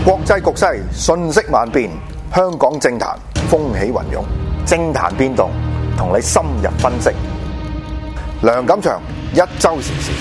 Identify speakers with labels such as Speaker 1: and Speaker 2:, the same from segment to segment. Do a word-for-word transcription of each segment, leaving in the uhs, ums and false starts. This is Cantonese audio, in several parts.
Speaker 1: 國際局勢瞬息萬變，香港政壇風起雲湧，政壇變動，同你深入分析。梁錦祥一周時事。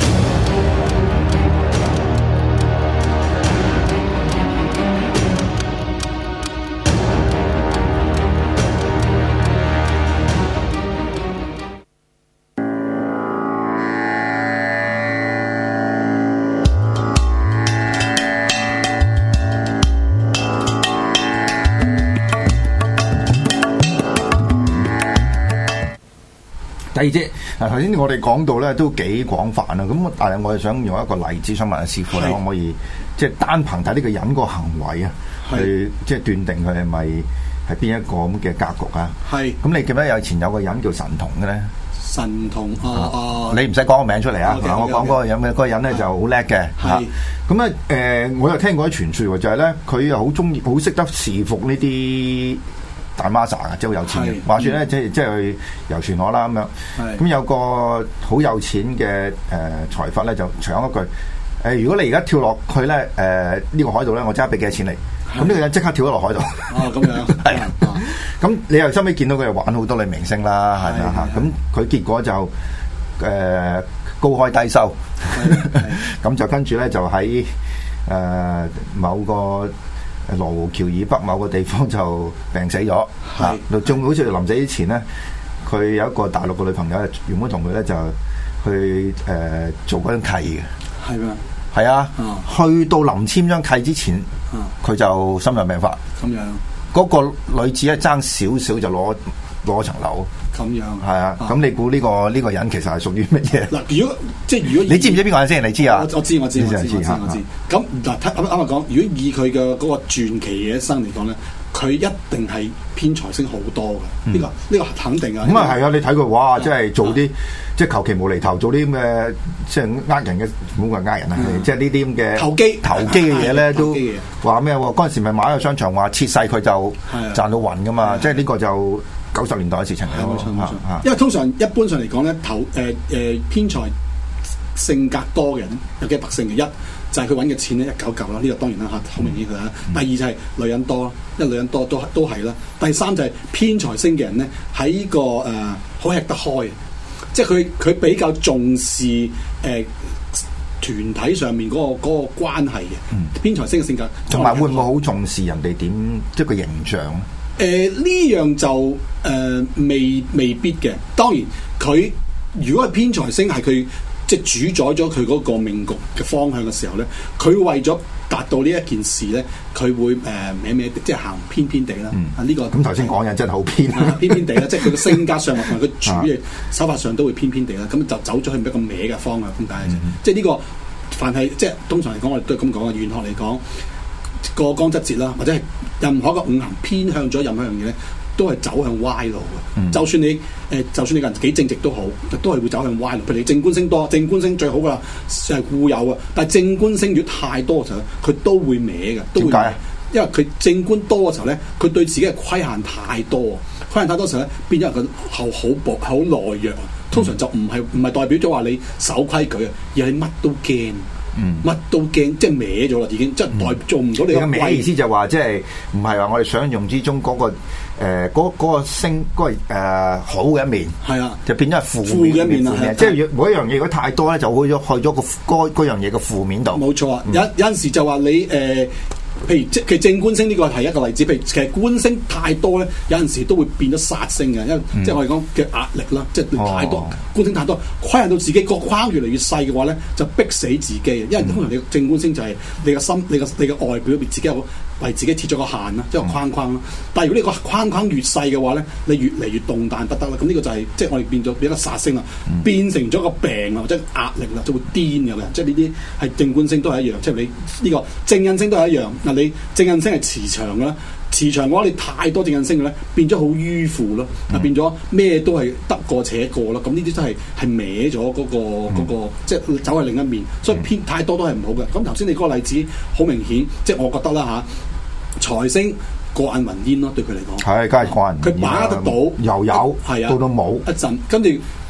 Speaker 2: 第二節嗱，頭先我哋講到咧都幾廣泛啊，咁但係我係想用一個例子，想問下師傅咧，可唔可以即係單憑睇呢個人個行為啊，去即係斷定佢係咪係邊一個咁嘅格局啊？係。咁你記唔記得有前有個人叫神童嘅咧？
Speaker 3: 神童啊啊！
Speaker 2: 你唔使講個名出嚟啊！
Speaker 3: okay, okay,
Speaker 2: 我講嗰個人嘅嗰個人咧就好叻嘅嚇。咁咧誒，我又聽過啲傳説喎，就係咧佢又好中意，好識得侍服呢啲大媽撒啊，即係好有錢嘅。話説咧，即係即係去遊船河啦咁樣。咁有個好有錢嘅誒財閥咧，就搶一句：誒，如果你而家跳落去咧，誒呢個海度咧，我即刻俾幾多錢你。咁呢個人即刻跳咗落海度。
Speaker 3: 哦，咁樣係啊。
Speaker 2: 咁你又收尾見到佢玩好多女明星啦，係咪啊？咁佢結果就誒高開低收。咁就跟住咧就喺誒某個羅湖橋以北某個地方就病死咗，嚇！仲好似臨死之前咧，佢有一個大陸嘅女朋友，原本同佢咧就去誒、呃、做嗰張契嘅，
Speaker 3: 係咩？
Speaker 2: 係啊，啊去到臨簽張契之前，佢、啊、就心臟病發。咁樣，嗰個女子咧爭少少就攞攞層樓。咁樣係啊，咁你估呢個呢個人其實係屬於乜嘢？嗱，如果即係如果你知唔知邊個人先？你知啊？我我知我知我知我知我知。咁嗱，啱啱啱講，如果以佢嘅嗰個傳奇嘅一生嚟講咧，佢一定係偏財星好多嘅。呢個呢個肯定啊。咁啊係啊！你睇佢哇，即係做啲即係求其無厘頭做啲咁嘅，即係呃人嘅，唔好話呃人啊，即係呢啲咁嘅投機投機嘅嘢咧，都話咩？嗰陣時咪買個商場話切細佢就賺到暈噶嘛，即係呢個就。九十年代嘅事情嚟，冇錯冇錯。因為通常一般上嚟講咧，投誒誒偏財性格多嘅人有幾個特性嘅，一就係佢揾嘅錢咧一嚿嚿啦，呢個當然啦嚇，好明顯佢啦。第二就係女人多啦，因為女人多都都係啦。第三就係偏財星嘅人咧，喺呢個誒好吃得開，即係佢佢比較重視誒、呃、團體上面嗰個嗰個關係嘅。嗯、偏財星嘅性格，同埋會唔會好重視人哋點即係個形象咧？誒呢、呃、樣就誒、呃、未未必嘅，當然佢如果係偏財星係佢即係主宰咗佢嗰個命局嘅方向嘅時候咧，佢為咗達到呢一件事咧，佢會誒歪歪即係行偏偏地啦。嗯、啊呢、這個咁頭先講嘢真係好偏、啊，偏偏地啦，即係佢嘅性格上同埋佢處嘅手法上都會偏偏地啦。咁就走咗去一個歪嘅方向咁解嘅啫。嗯、即係呢、這個凡係即係通常嚟講，我哋都係咁講嘅。玄學嚟講。過江則節啦，或者係任何一個五行偏向咗任何一樣嘢咧，都係走向歪路嘅。嗯、就算你誒、呃，就算你個人幾正直都好，都係會走向歪路。譬如你正官星多，正官星最好噶啦，係固有啊。但係正官星如果太多嘅時候，佢都會歪嘅。點解啊？因為佢正官多嘅時候咧，佢對自己嘅規限太多，規限太多嘅時候咧，變咗佢後好薄、好懦弱。通常就唔係唔係代表咗話你守規矩啊，而係乜都驚。嗯，乜都驚，即係歪咗啦，已經即係代做唔到你個歪。意思就話即係唔係話我哋想象之中嗰、嗰個誒嗰、呃嗰個嗰個星嗰、嗰個誒、呃、好嘅一面，係啊，就變咗係負負嘅一面啊！即係每一樣嘢如果太多咧，就會咗去咗個嗰嗰樣嘢嘅負面度。冇錯啊！嗯、有有陣時就話你誒。呃譬如即係正官星呢個係一個例子，譬如其實官星太多咧，有陣時都會變咗殺星嘅，因為、嗯、即係我哋講嘅壓力啦，即係太多、哦、官星太多，規限到自己個框越嚟越細嘅話咧，就逼死自己。因為通常你正官星就係你個心、你個你個外表入邊自己有為自己設咗個限啦，即係個框框啦。嗯、但係如果你個框框越細嘅話咧，你越嚟越動彈不得啦。咁呢個就係、是、即係我哋變咗變一個殺星啦，嗯、變成咗個病啊，或者壓力啦，就會癲嘅。即係呢啲係正官星都係一樣，即係你呢個正印星都係一樣。嗱，你正印星係磁場嘅啦，磁場嘅話你太多正印星嘅咧，變咗好迂腐咯，啊、嗯、變咗咩都係得過且過咯。咁呢啲都係係歪咗嗰個嗰、嗰個，嗯、即係走去另一面，所以偏太多都係唔好嘅。咁頭先你嗰個例子好明顯，即係我覺得啦嚇，財星過眼雲煙咯，對佢嚟講係，梗係過眼雲煙。佢把握得到，又有係啊，到到冇一陣，跟住佢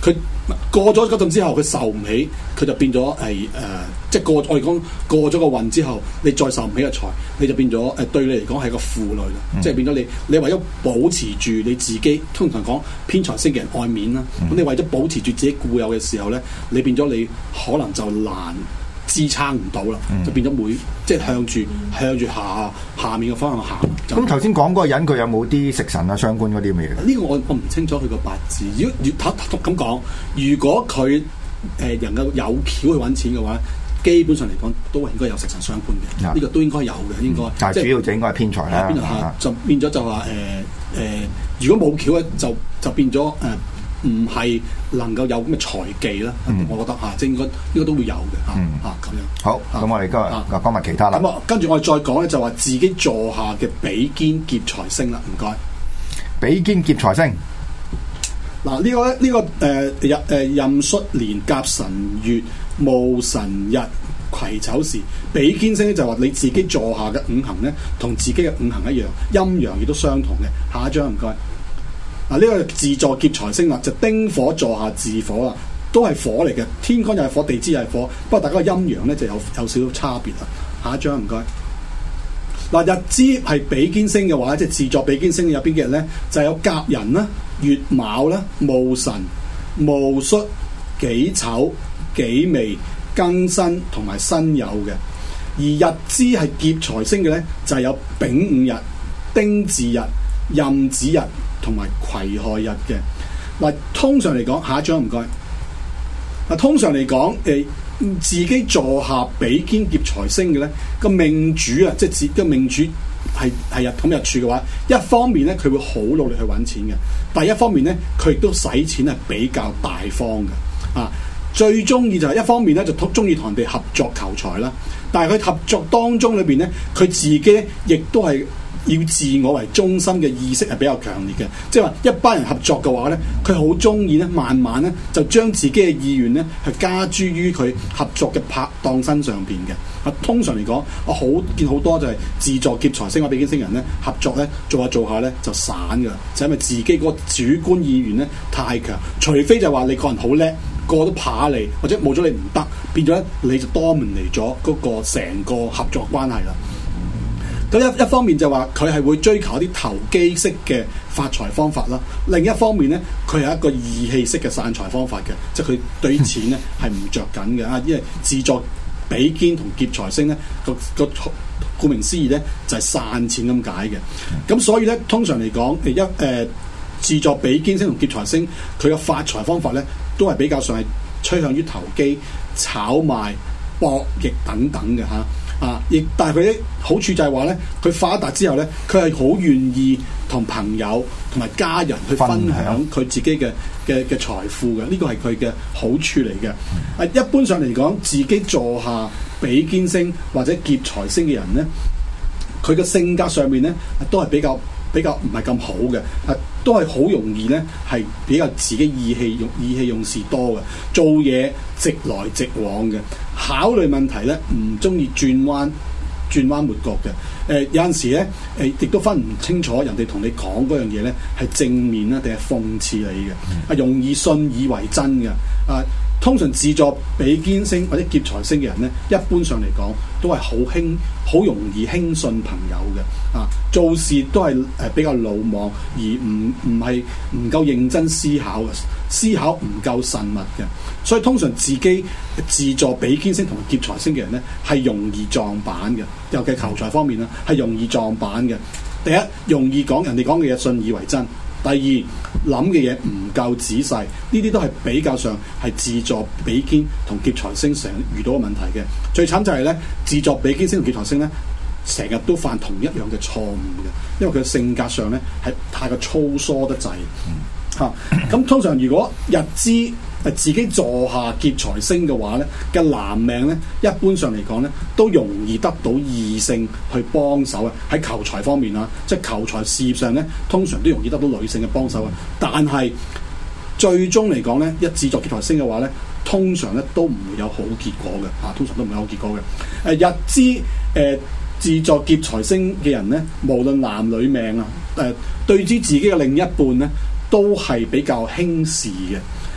Speaker 3: 過咗嗰陣之後，佢受唔起，佢就變咗誒誒，即係過我哋講過咗個運之後，你再受唔起嘅財，你就變咗誒、呃、對你嚟講係個負累啦，嗯、即係變咗你你為咗保持住你自己，通常講偏財星嘅人愛面啦，咁、嗯、你為咗保持住自己固有嘅時候咧，你變咗你可能就難支撐唔到啦，嗯、就變咗每即係向住向住下下面嘅方向行。
Speaker 2: 咁頭先講嗰個人佢有冇啲食神啊、傷官嗰啲咁嘅嘢？
Speaker 3: 呢個我我唔清楚佢個八字。如果越睇咁講，如果佢誒、呃、能夠有橋去揾錢嘅話，基本上嚟講都係應該有食神傷官嘅。呢、嗯、個都應該有嘅，應該。嗯、但係主要就應該係偏財啦。啊、就變咗就話誒誒，如果冇橋咧，就就變咗誒。呃唔係能夠有咁嘅財技啦，嗯、我覺得嚇，即係應該應該都會有嘅嚇嚇咁樣。好，咁、啊、
Speaker 2: 我哋今日講埋其他啦。
Speaker 3: 咁啊，跟住我哋再講咧，就話自己座下嘅比肩劫財星啦，唔該。
Speaker 2: 比肩劫財星，
Speaker 3: 嗱、這個、呢個咧，呢個誒壬誒壬戌年甲辰月戊辰日癸丑時，比肩星咧就話你自己座下嘅五行咧，同自己嘅五行一樣，陰陽亦都相同嘅。下一張唔該。嗱，呢個自坐劫財星啦，就丁火坐下自火啦，都係火嚟嘅，天干又係火，地支又係火，不過大家個陰陽咧就有有少少差別啦。下一張唔該。嗱，日支係比肩星嘅話，即係自坐比肩星有邊幾日咧？就係、有甲寅啦、乙卯啦、戊辰、戊戌、己丑、己未、庚辛同埋辛酉嘅。而日支係劫財星嘅咧，就係、有丙午日、丁巳日、壬子日同埋癸亥日嘅。嗱，通常嚟講，下一張唔該。嗱，通常嚟講，誒、呃、自己坐下比肩劫財星嘅咧，個命主啊，即係自個命主係係日統日柱嘅話，一方面咧佢會好努力去揾錢嘅，但係一方面咧佢亦都使錢係比較大方嘅。啊，最中意就係一方面咧就中意同人哋合作求財啦，但係佢合作當中裏邊咧，佢自己亦都係要自我為中心嘅意識係比較強烈嘅，即係話一班人合作嘅話咧，佢好中意咧，慢慢咧就將自己嘅意願咧係加諸於佢合作嘅拍檔身上邊嘅。啊，通常嚟講，我好見好多就係自坐劫財星或者比肩星人咧合作咧做下做下咧就散㗎，就係因為自己個主觀意願咧太強，除非就話你個人好叻，個個都怕你，或者冇咗你唔得，變咗咧你就多門嚟咗嗰個成個合作關係啦。咁一一方面就話佢係會追求一啲投機式嘅發財方法啦，另一方面咧佢係一個義氣式嘅散財方法嘅，即係佢對於錢咧係唔着緊嘅啊，因為自坐比肩同劫財星咧個個顧名思義咧就係、是、散錢咁解嘅。咁所以咧通常嚟講，誒一誒自坐比肩星同劫財星佢嘅發財方法咧都係比較上係趨向於投機、炒賣、博弈等等嘅嚇。啊！亦但係佢啲好處就係話咧，佢發達之後咧，佢係好願意同朋友同埋家人去分享佢自己嘅嘅嘅財富嘅，呢個係佢嘅好處嚟嘅。啊，一般上嚟講，自己坐下比肩星或者劫財星嘅人咧，佢嘅性格上面咧都係比較比較唔係咁好嘅，啊，都係好容易咧係比較自己意氣用意氣用事多嘅，做嘢直來直往嘅。考慮問題咧，唔中意轉彎轉彎抹角嘅。誒、呃、有陣時咧，誒、呃、亦都分唔清楚人哋同你講嗰樣嘢咧係正面啦定係諷刺你嘅。啊，容易信以為真嘅。啊，通常自坐比肩星或者劫財星嘅人咧，一般上嚟講都係好輕好容易輕信朋友嘅。啊，做事都係誒比較魯莽，而唔唔係唔夠認真思考嘅，思考唔夠慎密嘅。所以通常自己自坐比肩星同劫財星嘅人咧，係容易撞板嘅，尤其求財方面啦，係容易撞板嘅。第一，容易講人哋講嘅嘢信以為真；第二，諗嘅嘢唔夠仔細，呢啲都係比較上係自坐比肩同劫財星成日遇到嘅問題嘅。最慘就係咧，自坐比肩星同劫財星咧，成日都犯同一樣嘅錯誤嘅，因為佢嘅性格上咧係太過粗疏得滯。嚇、啊，咁通常如果日支誒自己坐下劫財星嘅話咧，嘅男命咧，一般上嚟講咧，都容易得到異性去幫手啊。喺求財方面啊，即係求財事業上咧，通常都容易得到女性嘅幫手啊。但係最終嚟講咧，一自坐劫財星嘅話咧，通常咧都唔會有好結果嘅。嚇、啊，通常都唔會有好結果嘅。誒、呃、日支誒。呃自坐劫財星嘅人咧，無論男女命啊，誒、呃、對於自己嘅另一半咧，都係比較輕視嘅。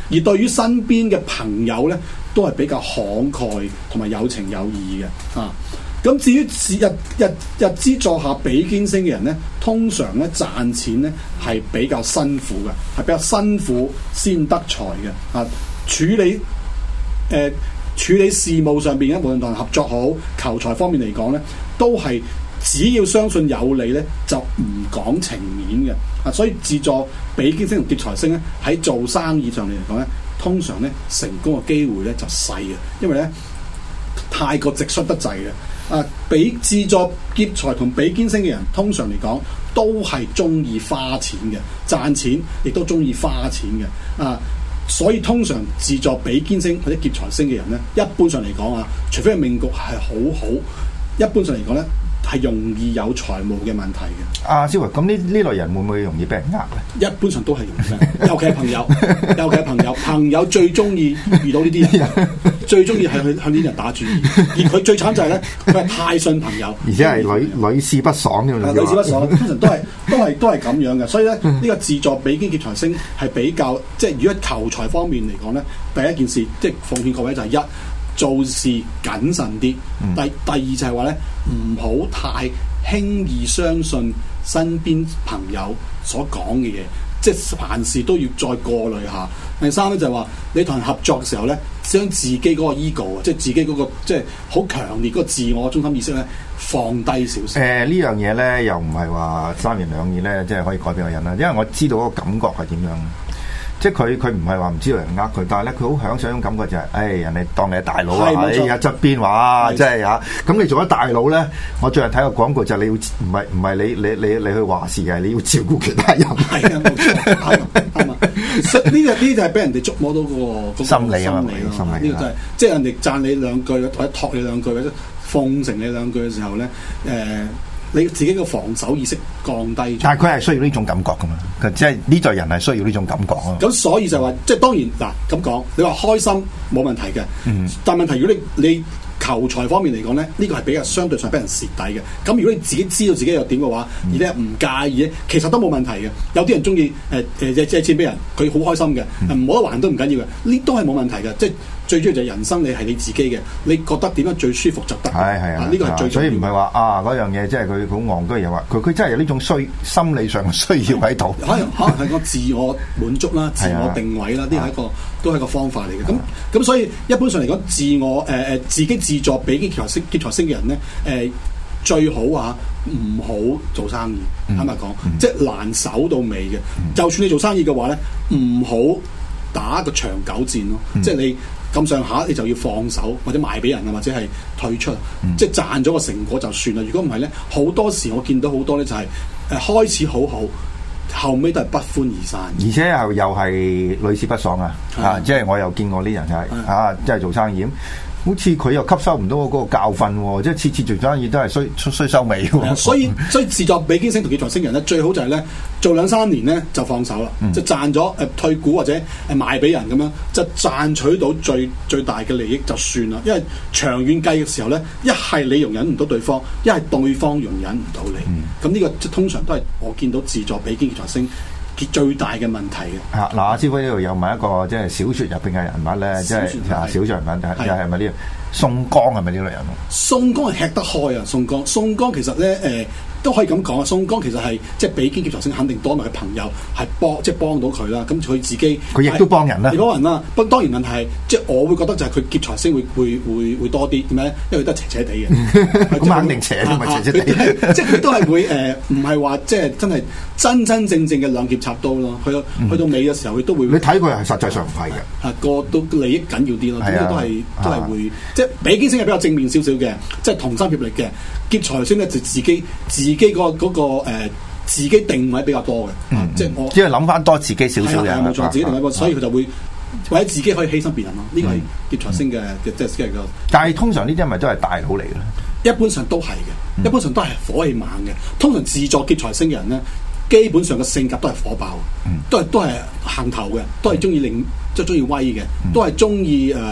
Speaker 3: 而對於身邊嘅朋友咧，都係比較慷慨同埋有情有義嘅啊。咁至於日日日支座下比肩星嘅人咧，通常咧賺錢咧係比較辛苦嘅，係比較辛苦先得財嘅啊。處理誒、呃、處理事務上邊咧，無論同人合作好、求財方面嚟講咧，都係只要相信有理咧，就唔講情面嘅啊。所以自助比肩星同劫財星咧，喺做生意上嚟講咧，通常咧成功嘅機會咧就細嘅，因為咧太過直率得滯嘅。啊，比自助劫財同比肩星嘅人，通常嚟講都係中意花錢嘅，賺錢亦都中意花錢嘅。啊，所以通常自助比肩星或者劫財星嘅人咧，一般上嚟講啊，除非係命局係好好，一般上嚟講咧係容易有財務嘅問題嘅。
Speaker 2: 阿蕭維，咁呢呢類人會唔會容易俾人呃咧？
Speaker 3: 一般上都係容易，尤其係朋友，尤其係朋友，朋友最中意遇到呢啲人。最中意係去向呢啲人打主意，而佢最慘就係咧，佢係太信朋友，
Speaker 2: 而且係屢屢試不爽嘅。
Speaker 3: 屢試不爽，通常都係都係都係咁樣嘅。所以咧，呢、這個自助比肩劫財星係比較，即係如果求財方面嚟講咧，第一件事即係奉勸各位就係一做事謹慎啲，嗯、第第二就係話咧，唔好太輕易相信身邊朋友所講嘅嘢。即係凡事都要再過濾下。第三咧就係話，你同人合作嘅時候咧，將自己嗰個 ego 啊，即係自己嗰、嗰個即係好強烈嗰個自我中心意識咧，放低少少。誒、
Speaker 2: 呃、呢樣嘢咧，又唔係話三言兩語咧，即係可以改變個人啦。因為我知道嗰個感覺係點樣。即係佢佢唔係話唔知道人呃佢，但係咧佢好享受一種感覺就係、是，誒、哎、人哋當你係大佬啊，喺一側邊話，即係嚇。咁你做咗大佬咧，我最近睇個廣告就係你要唔係唔係你你你你去話事嘅，你要照顧其他人。係啊，冇錯，啱啊，啱啊。呢個呢就係俾人哋觸摸到、嗰個、嗰個心理啊嘛，
Speaker 3: 心理。呢個就係即係人哋讚你兩句或者託你兩句或者奉承你兩句嘅時候咧，誒、呃。你自己個防守意識降低，
Speaker 2: 但係佢係需要呢種感覺噶嘛？即係呢代人係需要呢種感覺啊。
Speaker 3: 咁所以就話，即係當然嗱咁講，你話開心冇問題嘅，嗯、但係問題如果你你求財方面嚟講咧，呢、呢個係比較相對上俾人蝕底嘅。咁如果你自己知道自己有點嘅話，嗯、而你係唔介意咧，其實都冇問題嘅。有啲人中意誒誒借錢俾人，佢好開心嘅，唔冇得還都唔緊要嘅，呢都係冇問題嘅。即係最主要就係人生，你係你自己嘅，你覺得點樣最舒服就得。係係啊，呢個係最重要。所以唔係話啊嗰樣嘢，即係佢好戇居，又話佢佢真係有呢種需心理上嘅需要喺度。可能可能係個自我滿足啦，自我定位啦，呢個係一個都係一個方法嚟嘅。咁咁所以一般上嚟講，自我誒誒、呃、自己自助比劫財星劫財星嘅人咧，誒、呃、最好啊唔好做生意。坦白講，嗯、即係難守到尾嘅。嗯、就算你做生意嘅話咧，唔好打個長久戰咯。嗯、即係你。咁上下你就要放手或者賣俾人啊，或者係退出，嗯、即係賺咗個成果就算啦。如果唔係咧，好多時我見到好多咧就係、是、誒開始好好，後尾都係不歡而散，而且又又係屢試不爽啊！的啊，即係我又見過啲人係的啊，即係做生意。好似佢又吸收唔到嗰個教訓喎，即係次次做生意都係衰衰收尾喎。所以所以自助比肩星同劫財星人咧，最好就係咧做兩三年咧就放手啦，嗯、就賺咗誒退股或者誒賣俾人咁樣，就賺取到最最大嘅利益就算啦。因為長遠計嘅時候咧，一係你容忍唔到對方，一係對方容忍唔到你。咁呢、嗯、個即通常都係我見到自助比肩劫財星最大嘅問題嘅。嚇嗱，阿師傅呢度又問一個即係小説入邊嘅人物咧，即係啊小説人物又係咪呢個宋江係咪呢類人物？宋江係吃得開啊！宋江，宋江其實咧誒。呃都可以咁講啊！宋江其實係即係比肩劫財星肯定多埋嘅朋友係幫即係幫到佢啦。咁佢自己佢亦都幫人啦，幫人啦。不過當然問題係即係我會覺得就係佢劫財星會會會會多啲點解咧？因為佢都係斜斜地嘅，咁肯定斜都唔係斜斜地。即係佢都係會誒，唔係話即係真係真真正正嘅兩劍插刀咯。去到去到尾嘅時候，佢都會你睇佢係實際上唔係嘅，嚇個都利益緊要啲咯。咁都係都係會即係比肩星係比較正面少少嘅，即係同心協力嘅。劫財星咧就自己自己嗰、那、嗰個、呃、自己定位比較多嘅，嗯嗯、即係我只係諗翻多自己少少嘅，冇錯，自己定位多，所以佢就會或者自己可以犧牲別人咯。呢、這個係劫財星嘅嘅即係即係個。但係通常呢啲係咪都係大佬嚟嘅咧？一般上都係嘅，嗯、一般上都係火氣猛嘅。通常自助劫財星嘅人咧，基本上嘅性格都係火爆，嗯、都係都係行頭嘅，都係中意令即係中意威嘅，都係中意誒誒。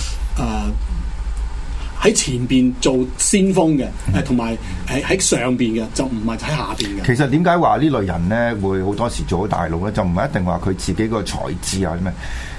Speaker 3: 喺前邊做先鋒嘅，誒同埋喺喺上邊嘅，就唔係喺下邊嘅。其實點解話呢類人咧會好多時做到大佬咧？就唔係一定話佢自己個才智啊咩？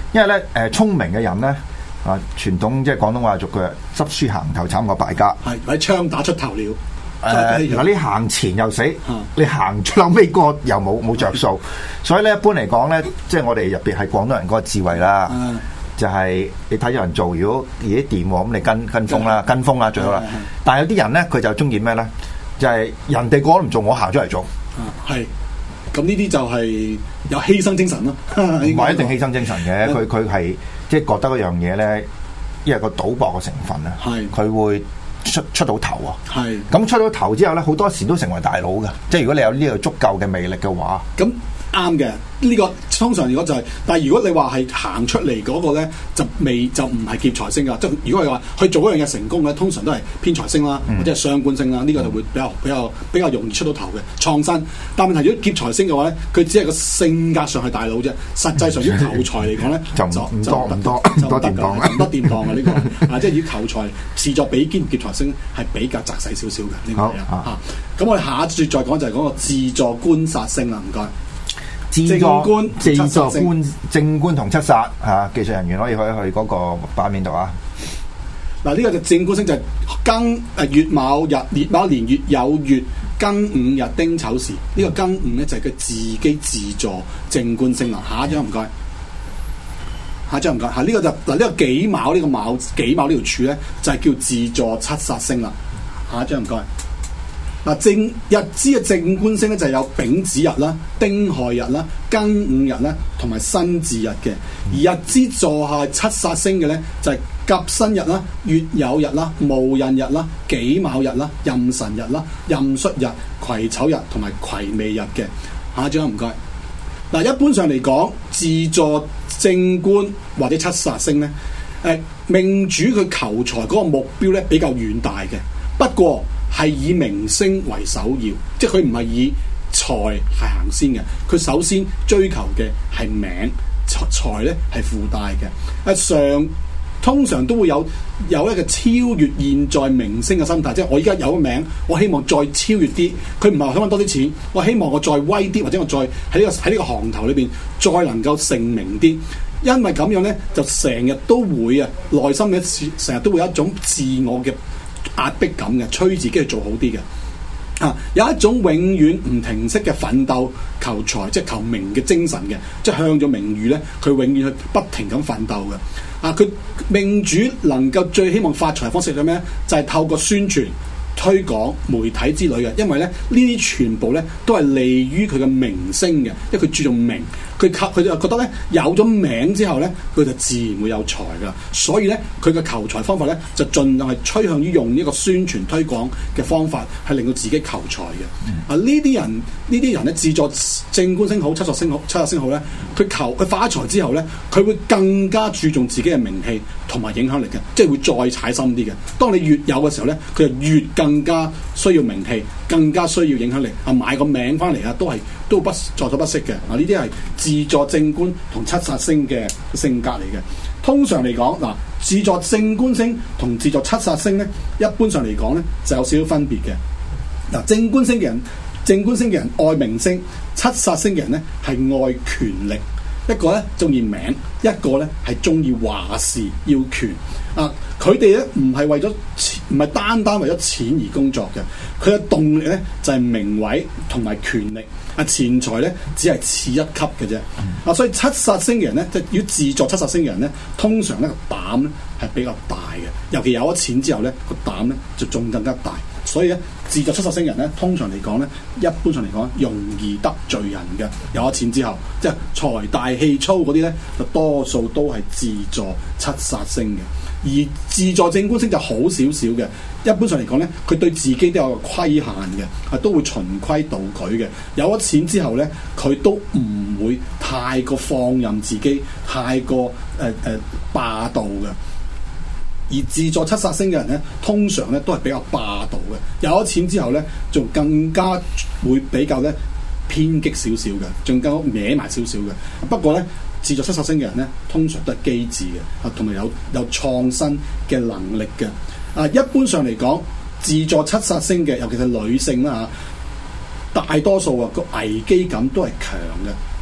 Speaker 2: 因為咧誒聰明嘅人咧啊，傳統即係廣東話俗句，執輸行頭慘過敗家，
Speaker 3: 係喺槍打出頭鳥。
Speaker 2: 誒嗱，你行前又死，嗯、你行最後尾個又冇冇着數，所以咧一般嚟講咧，即係我哋入邊係廣東人嗰個智慧啦，嗯、就係你睇有人做，如果而啲掂喎，咁你跟跟風啦，跟風啦最好啦。但係有啲人咧，佢就中意咩咧？就係、是、人哋個都唔做，我行出嚟做。
Speaker 3: 係、嗯，咁呢啲就係有犧牲精神咯。唔
Speaker 2: 係一定犧牲精神嘅，佢佢係即係覺得嗰樣嘢咧，因為個賭博嘅成分啊，佢是會。出出到頭啊！係咁是出到頭之後咧，好多時都成為大佬嘅。即係如果你有呢個足夠嘅魅力嘅話，咁
Speaker 3: 啱嘅。呢、這個通常如果就係、是，但係如果你話係行出嚟嗰個咧，就未就唔係劫財星噶。即係如果係話去做嗰樣嘢成功咧，通常都係偏財星啦，嗯、或者係傷官星啦。呢、這個就會比較比較比較容易出到頭嘅創新。但係問題如果劫財星嘅話咧，佢只係個性格上係大佬啫，實際上以求財嚟講咧，就唔多唔多唔多掂當唔多掂當嘅呢個啊，即係以求財視作比肩劫財星係比較窄細少少嘅呢個嘢啊。咁我哋下一節再講就係講個自助官殺星啦，唔該。
Speaker 2: 正官、自助官、正官同七殺嚇，技術人員可以去去嗰個版面度啊。
Speaker 3: 嗱，呢個就正官星就係庚誒乙卯日，乙卯年月有月庚午日丁丑時。呢、這個庚午咧就係佢自己自助正官星啦。下一張唔該，下一張唔該。嚇，呢個就嗱呢、這個己卯呢個卯己卯呢條柱咧就係叫自助七殺星啦。下一張唔該。嗱，正日支嘅正官星咧就係有丙子日啦、丁亥日啦、庚午日啦，同埋辛巳日嘅。而日支座下七殺星嘅咧就係甲申日啦、乙酉日啦、戊寅日啦、己卯日啦、壬辰日啦、壬戌日、癸丑日同埋癸未日嘅。下一張唔該。嗱，一般上嚟講，自助正官或者七殺星咧，誒命主佢求財嗰個目標咧比較遠大嘅，不過，係以名聲為首要，即係佢唔係以財係行先嘅，佢首先追求嘅係名，財咧係附帶嘅。啊，上通常都會有有一個超越現在名聲嘅心態，即係我而家有個名，我希望再超越啲。佢唔係話想揾多啲錢，我希望我再威啲，或者我再喺呢個喺呢個行頭裏邊再能夠成名啲。因為咁樣咧，就成日都會啊，內心嘅成日都會有一種自我嘅壓迫感嘅，催自己去做好啲嘅。啊，有一種永遠唔停息嘅奮鬥、求財即係求名嘅精神嘅，即係向咗名譽咧，佢永遠去不停咁奮鬥嘅。啊，佢命主能夠最希望發財方式係咩？就係、是、透過宣傳、推廣、媒體之類嘅，因為咧呢啲全部咧都係利於佢嘅名聲嘅，因為佢注重名。佢靠佢就覺得咧有咗名之後咧，佢就自然會有財噶，所以咧佢嘅求財方法咧就盡量係趨向於用呢個宣傳推廣嘅方法，係令到自己求財嘅。嗯、啊，呢啲人呢啲人咧自助正官星好、七殺星好、七殺星好咧，佢求佢發財之後咧，佢會更加注重自己嘅名氣同埋影響力嘅，即係會再踩深啲嘅。當你越有嘅時候咧，佢就越更加需要名氣，更加需要影響力。啊，買個名翻嚟啊，都係都不在所不惜嘅。啊，呢啲係自助正官同七殺星嘅性格嚟嘅。通常嚟講，嗱，自助正官星同自助七殺星咧，一般上嚟講咧就有少少分別嘅。嗱，正官星嘅人，正官星嘅人愛名聲，七殺星嘅人咧係愛權力。一個咧中意名，一個咧係中意話事要權。啊，佢哋咧唔係為咗錢，唔係單單為咗錢而工作嘅。佢嘅動力咧就係、是、名位同埋權力。啊，錢財咧只係次一級嘅啫。啊，所以七殺星嘅人咧，即係要自助七殺星嘅人咧，通常咧個膽咧係比較大嘅。尤其有咗錢之後咧，個膽咧就仲更加大。所以咧，自助七殺星人咧，通常嚟講咧，一般上嚟講，容易得罪人嘅。有咗錢之後，即係財大氣粗嗰啲咧，就多數都係自助七殺星嘅。而自助正官星就好少少嘅。一般上嚟講咧，佢對自己都有個規限嘅，係都會循規蹈矩嘅。有咗錢之後咧，佢都唔會太過放任自己，太過誒誒、呃呃、霸道嘅。而自助七殺星嘅人咧，通常咧都係比較霸道嘅。有咗錢之後咧，仲更加會比較咧偏激少少嘅，仲更歪埋少少嘅。不過咧，自助七殺星嘅人咧，通常都係機智嘅，啊，同埋有有創新嘅能力嘅。啊，一般上嚟講，自助七殺星嘅，尤其係女性啦嚇，大多數啊個危機感都係強嘅。啊，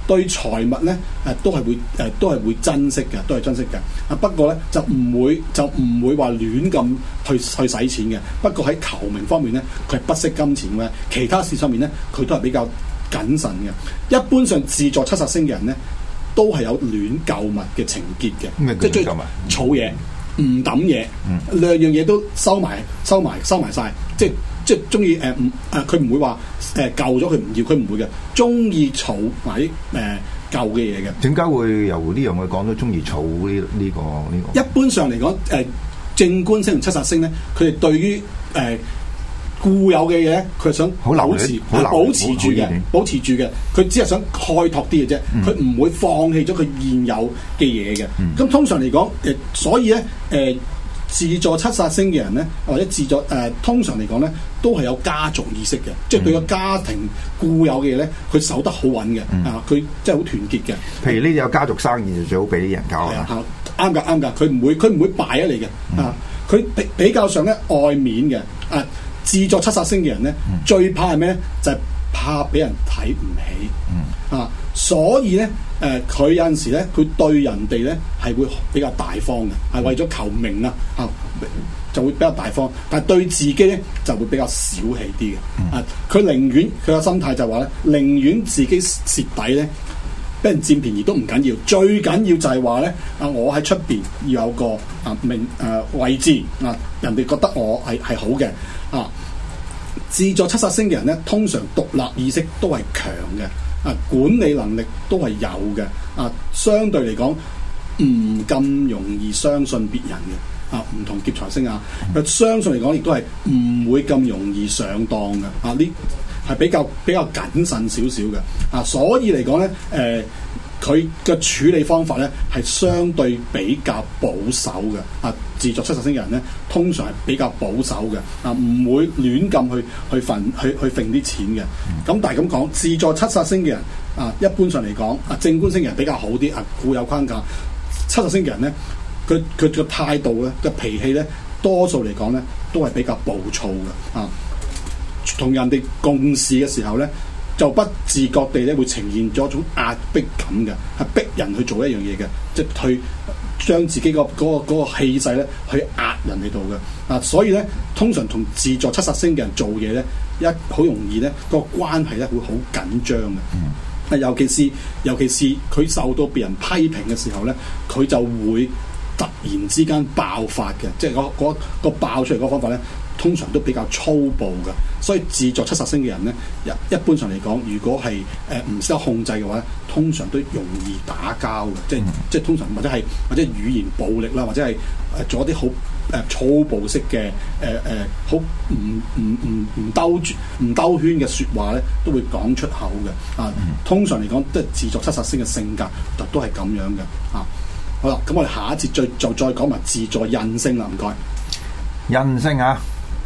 Speaker 3: 對財物咧誒都係會誒、呃、都係會珍惜嘅，都係珍惜嘅。啊不過咧就唔會就唔會話亂咁去去使錢嘅。不過喺求名方面咧，佢係不惜金錢嘅。其他事上面咧，佢都係比較謹慎嘅。一般上自坐七殺星嘅人咧，都係有亂購物嘅情結嘅，即係中意儲嘢，唔抌嘢，嗯、兩樣嘢都收埋收埋收埋晒，即係即係中意誒唔誒佢唔會話誒舊咗佢唔要，佢唔會嘅，中意儲埋啲誒舊嘅嘢嘅。點解會由呢樣去講到中意儲呢呢個呢個？一般上嚟講，誒、呃、正官星同七殺星咧，佢哋對於誒。呃固有嘅嘢，佢係想保持，保持住嘅，保持住嘅。佢只係想開拓啲嘅啫，佢唔、嗯、會放棄咗佢現有嘅嘢嘅。咁、嗯、通常嚟講，誒，所以咧，誒、呃，自坐七殺星嘅人咧，或者自坐誒、呃，通常嚟講咧，都係有家族意識嘅，嗯、即係對個家庭固有嘅嘢咧，佢守得好穩嘅，嗯、啊，佢即係好團結嘅。譬如呢啲有家族生意就最好俾啲人搞啊，啱噶啱噶，佢唔會佢唔會敗咗你嘅，嗯、啊，佢比比較上咧愛面嘅，啊。自坐七殺星嘅人咧，嗯、最怕係咩咧？就係、是、怕俾人睇唔起，嗯、啊！所以咧，誒、呃，佢有陣時咧，佢對人哋咧係會比較大方嘅，係為咗求名啊，啊，就會比較大方。但係對自己咧就會比較小氣啲嘅，嗯、啊！佢寧願佢個心態就話咧，寧願自己蝕底咧，俾人佔便宜都唔緊要，最緊要就係話咧，啊，我喺出邊要有個啊名誒、啊、位置啊，人哋覺得我係係好嘅。啊，自坐七殺星嘅人咧，通常獨立意識都係強嘅，啊，管理能力都係有嘅，啊，相對嚟講唔咁容易相信別人嘅，啊，唔同劫財星啊，佢相信嚟講亦都係唔會咁容易上當嘅，啊，呢係比較比較謹慎少少嘅，啊，所以嚟講咧，誒、呃。佢嘅處理方法咧係相對比較保守嘅，啊，自坐七殺星嘅人咧通常係比較保守嘅，啊，唔會亂咁去去份去去揈啲錢嘅。咁、嗯、但係咁講，自坐七殺星嘅人啊，一般上嚟講，啊，正官星嘅人比較好啲，啊，固有框架。七殺星嘅人咧，佢佢嘅態度咧嘅脾氣咧，多數嚟講咧都係比較暴躁嘅，啊，同人哋共事嘅時候咧，就不自覺地咧會呈現咗一種壓迫感嘅，係逼人去做一樣嘢嘅，即係去將自己個嗰個嗰個氣勢咧去壓人哋度嘅。啊，所以咧通常同自坐七殺星嘅人做嘢咧，一好容易咧個關係咧會好緊張嘅。啊，尤其是尤其是佢受到別人批評嘅時候咧，佢就會突然之間爆發嘅，即係嗰嗰個爆出嚟嗰個方法咧，通常都比較粗暴嘅。所以自坐七殺星嘅人咧，一一般上嚟講，如果係誒唔識得控制嘅話，通常都容易打交嘅，即係、嗯、即係通常或者係或者語言暴力啦，或者係誒做一啲好誒粗暴式嘅誒誒好唔唔唔唔兜住唔兜圈嘅説話咧，都會講出口嘅。啊，嗯、通常嚟講都係自坐七殺星嘅性格，就都係咁樣嘅。啊，好啦，咁我哋下一節再就再講埋自坐印星啦，唔該。印星啊！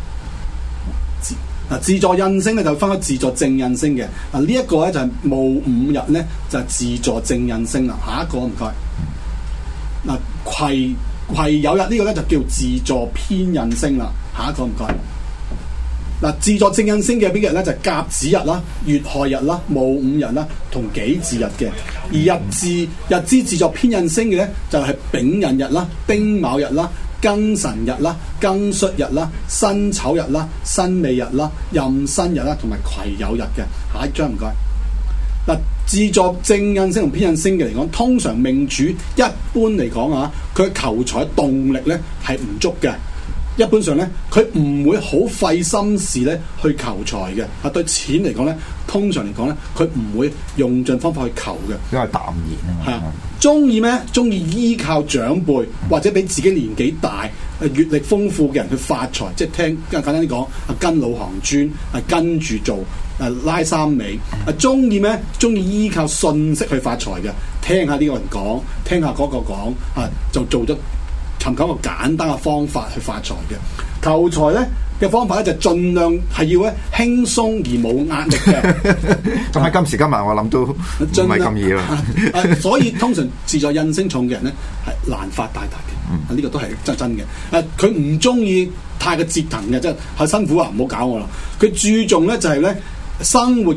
Speaker 3: 嗱，自坐印星咧就分開自坐正印星嘅。嗱，呢一個咧就係戊午日咧就係自坐正印星啦。下一個唔該。嗱，癸癸酉日呢個咧就叫自坐偏印星啦。下一個唔該。嗱，自坐正印星嘅邊日咧就係甲子日啦、乙亥日啦、戊午日啦同己巳日嘅。而日支日支自坐偏印星嘅咧就係丙寅日啦、丁卯日啦、庚辰日啦、庚戌日啦、辛丑日啦、辛未日啦、壬申日啦，同埋癸酉日嘅。下一張唔該。嗱，自坐正印星同偏印星嘅嚟講，通常命主一般嚟講啊，佢求財動力咧係唔足嘅。一般上咧，佢唔會好費心事咧去求財嘅。啊，對錢嚟講咧，通常嚟講咧，佢唔會用盡方法去求嘅，因為淡然啊嘛。係啊，中意咩？中意依靠長輩或者比自己年紀大、誒閲歷豐富嘅人去發財，即係聽簡單啲講，啊跟老行尊，啊跟住做，啊拉三尾。啊中意咩？中意依靠信息去發財嘅，聽下呢個人講，聽下嗰個講，啊就做咗。尋求一個簡單嘅方法去發財嘅，求財咧嘅方法咧就盡量係要咧輕鬆而冇壓力嘅。咁喺今時今日我諗都唔係咁易啦。所以通常自坐印星重嘅人咧係難發大達嘅。啊呢、這個都係真真嘅。誒佢唔中意太過折騰嘅，即係係辛苦啊，唔好搞我啦。佢注重咧就係、是、咧生活嘅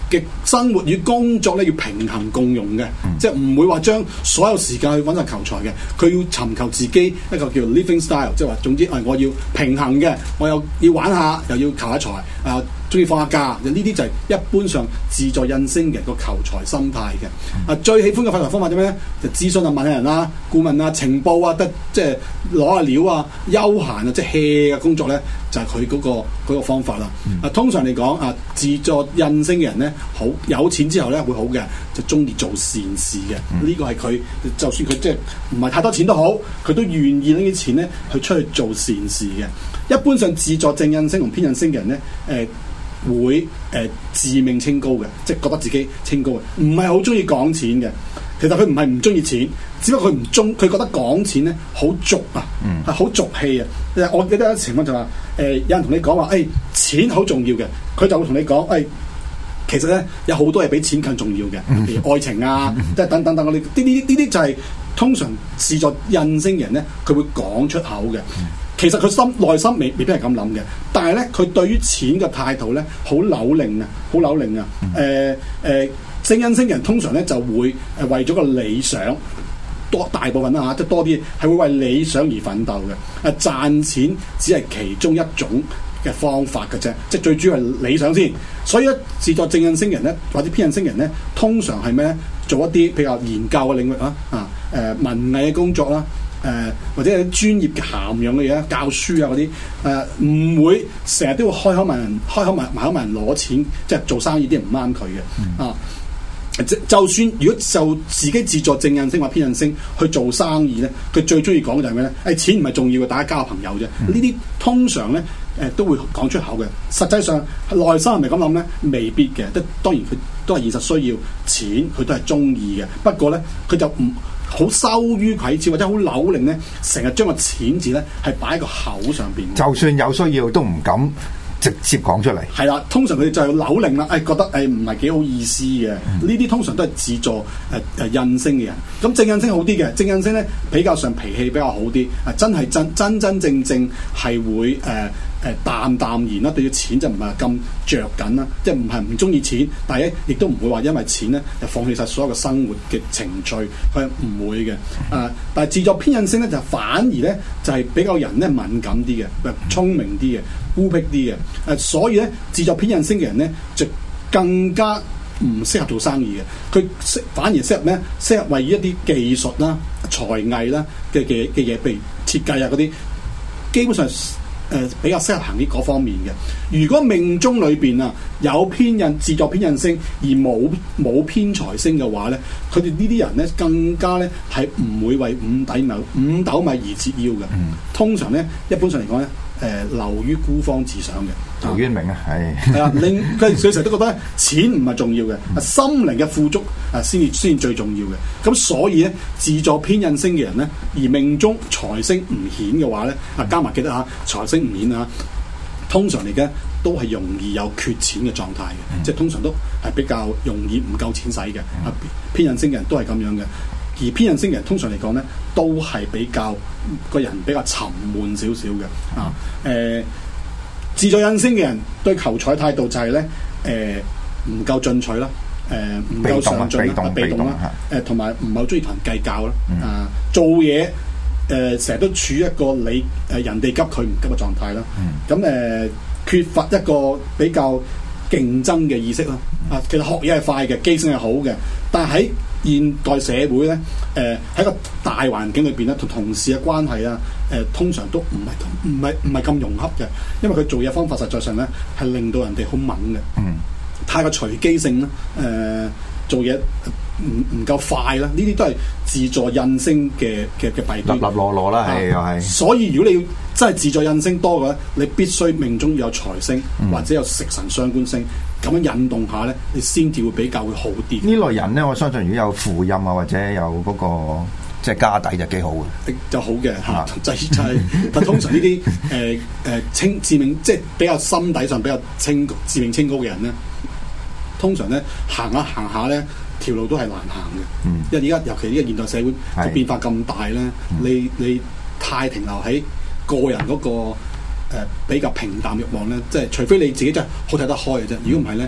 Speaker 3: 嘅生活與工作咧要平衡共用嘅，嗯、即係唔會話將所有時間去揾晒求財嘅，佢要尋求自己一個叫 living style， 即係話總之誒我要平衡嘅，我又要玩下，又要求下財啊。中意放下假，呢啲就係一般上自助印星嘅個求財心態嘅。啊，最喜歡嘅發財方法點咩？就諮詢啊、問下人啦、顧問啊、情報啊，得即係攞下料啊、休閒啊，即係 hea 嘅工作咧，就係佢嗰個嗰、嗰個方法啦。啊，通常嚟講啊，自助印星嘅人咧，好有錢之後咧會好嘅，就中意做善事嘅。呢、嗯、個係佢，就算佢即係唔係太多錢都好，佢都願意拎啲錢咧去出去做善事嘅。一般上自助正印星同偏印星嘅人咧，誒、呃。會誒、呃、自命清高嘅，即係覺得自己清高嘅，唔係好中意講錢嘅。其實佢唔係唔中意錢，只不過佢唔中，佢覺得講錢咧好俗啊，係好、嗯、俗氣啊。我記得有一情況就話，誒、呃、有人同你講話，誒、哎、錢好重要嘅，佢就會同你講，誒、哎、其實咧有好多嘢比錢更重要嘅，譬如愛情啊，即係等等等嗰啲，呢啲呢啲就係通常自助印星人咧，佢會講出口嘅。其實佢心內心未未必係咁諗嘅，但係咧佢對於錢嘅態度咧好扭擰啊，好扭擰啊！誒、呃、誒、呃，正印星人通常咧就會誒為咗個理想，多大部分啦嚇，即係多啲係會為理想而奮鬥嘅。誒賺錢只係其中一種嘅方法嘅啫，即係最主要係理想先。所以咧，自助正印星人咧或者偏印星人咧，通常係咩咧？做一啲比較研究嘅領域啊，啊誒、呃、文藝嘅工作啦。誒、呃、或者有啲專業嘅涵養嘅嘢，教書啊嗰啲，誒唔會成日都會開口問人，開口埋埋口問人攞錢，即係做生意啲人唔啱佢嘅。嗯、啊，即就算如果就自己自助正印星或偏印星去做生意咧，佢最中意講嘅就係咩咧？誒、哎、錢唔係重要嘅，大家交下朋友啫。呢啲、嗯、通常咧誒、呃、都會講出口嘅，實際上內心係咪咁諗咧？未必嘅，即當然佢都係現實需要錢，佢都係中意嘅。不過咧，佢就唔好羞於啟齒或者好扭擰咧，成日將個錢字咧係擺喺個口上邊。就算有需要都唔敢直接講出嚟。係啦，通常佢哋就係扭擰啦，誒、哎、覺得誒唔係幾好意思嘅。呢啲、嗯、通常都係自助誒誒、呃、印星嘅人。咁正印星好啲嘅，正印星咧比較上脾氣比較好啲，啊真係真真真正正係會誒。呃誒、呃、淡淡然啦，對住錢就唔係咁着緊啦，即係唔係唔中意錢，但係咧亦都唔會話因為錢咧就放棄晒所有嘅生活嘅情趣，佢係唔會嘅。啊、呃，但係自助偏印星咧就反而咧就係、是、比較人咧敏感啲嘅，聰明啲嘅，孤僻啲嘅。誒、呃，所以咧自助偏印星嘅人咧就更加唔適合做生意嘅，佢適反而適合咩？適合為一啲技術啦、才藝啦嘅嘅嘅嘢，譬如設計啊嗰啲，基本上。誒、呃、比較適合行啲嗰方面嘅。如果命中裏邊啊有偏印自助偏印星而冇冇偏財星嘅話咧，佢哋呢啲人咧更加咧係唔會為五斗米五斗米而折腰嘅。嗯、通常咧一般上嚟講咧，誒、呃、流於孤芳自賞嘅。陶淵明啊，係係啊，令佢佢成日都覺得錢唔係重要嘅，嗯、心靈嘅富足啊先至先至最重要嘅。咁所以咧自助偏印星嘅人咧，而命中財星唔顯嘅話咧，啊加埋記得嚇財星唔顯啊，通常嚟嘅都係容易有缺錢嘅狀態嘅，嗯、即係通常都係比較容易唔夠錢使嘅。啊、嗯、偏印星嘅人都係咁樣嘅，而偏印星嘅人通常嚟講咧，都係比較個人比較沉悶少少嘅啊誒。呃自助印星嘅人對求財態度就係、是、咧，誒唔夠進取啦，誒、呃、唔夠上進啦，被動啦，誒同埋唔係好中意同人計較啦，嗯、啊做嘢誒成日都處於一個你誒人哋急佢唔急嘅狀態啦，咁誒、嗯呃、缺乏一個比較競爭嘅意識啦，啊其實學嘢係快嘅，記性係好嘅，但係喺現代社會咧，誒、呃、喺個大環境裏邊咧，同同事嘅關係啊，誒、呃、通常都唔係咁，唔係唔係咁融洽嘅，因為佢做嘢方法實在上咧係令到人哋好猛嘅，嗯，太過隨機性啦，誒、呃、做嘢唔唔夠快啦，呢啲都係自助印星嘅嘅嘅弊端，立立落落啦，係又係。所以如果你要真係自助印星多嘅話，你必須命中要有財星、嗯、或者有食神傷官星。咁樣引動下咧，你先至會比較會好啲。呢類人咧，我相信如果有父蔭啊，或者有嗰、那個即係家底就幾好嘅，就好嘅嚇。就就係，但通常呢啲誒誒清自命，即係比較心底上比較清自命清高嘅人咧，通常咧行下行下咧條路都係難行嘅。嗯、因為而家尤其呢個現代社會個是變化咁大咧，嗯、你你太停留喺個人嗰、那個。誒、呃、比較平淡慾望咧，即係除非你自己真係好睇得開嘅啫。如果唔係咧，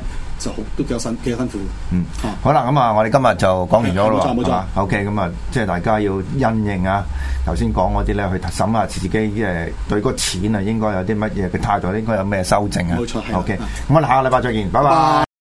Speaker 3: 就好都幾有辛幾有辛苦。
Speaker 2: 嗯，好啦，咁啊，我哋今日就講完咗咯喎。
Speaker 3: 冇錯冇錯。
Speaker 2: OK，咁啊，即係大家要因應啊，頭先講嗰啲咧，去審下自己誒對嗰錢啊，應該有啲乜嘢嘅態度，應該有咩修正啊。
Speaker 3: 冇錯。
Speaker 2: OK，咁我哋下個禮拜再見，拜拜。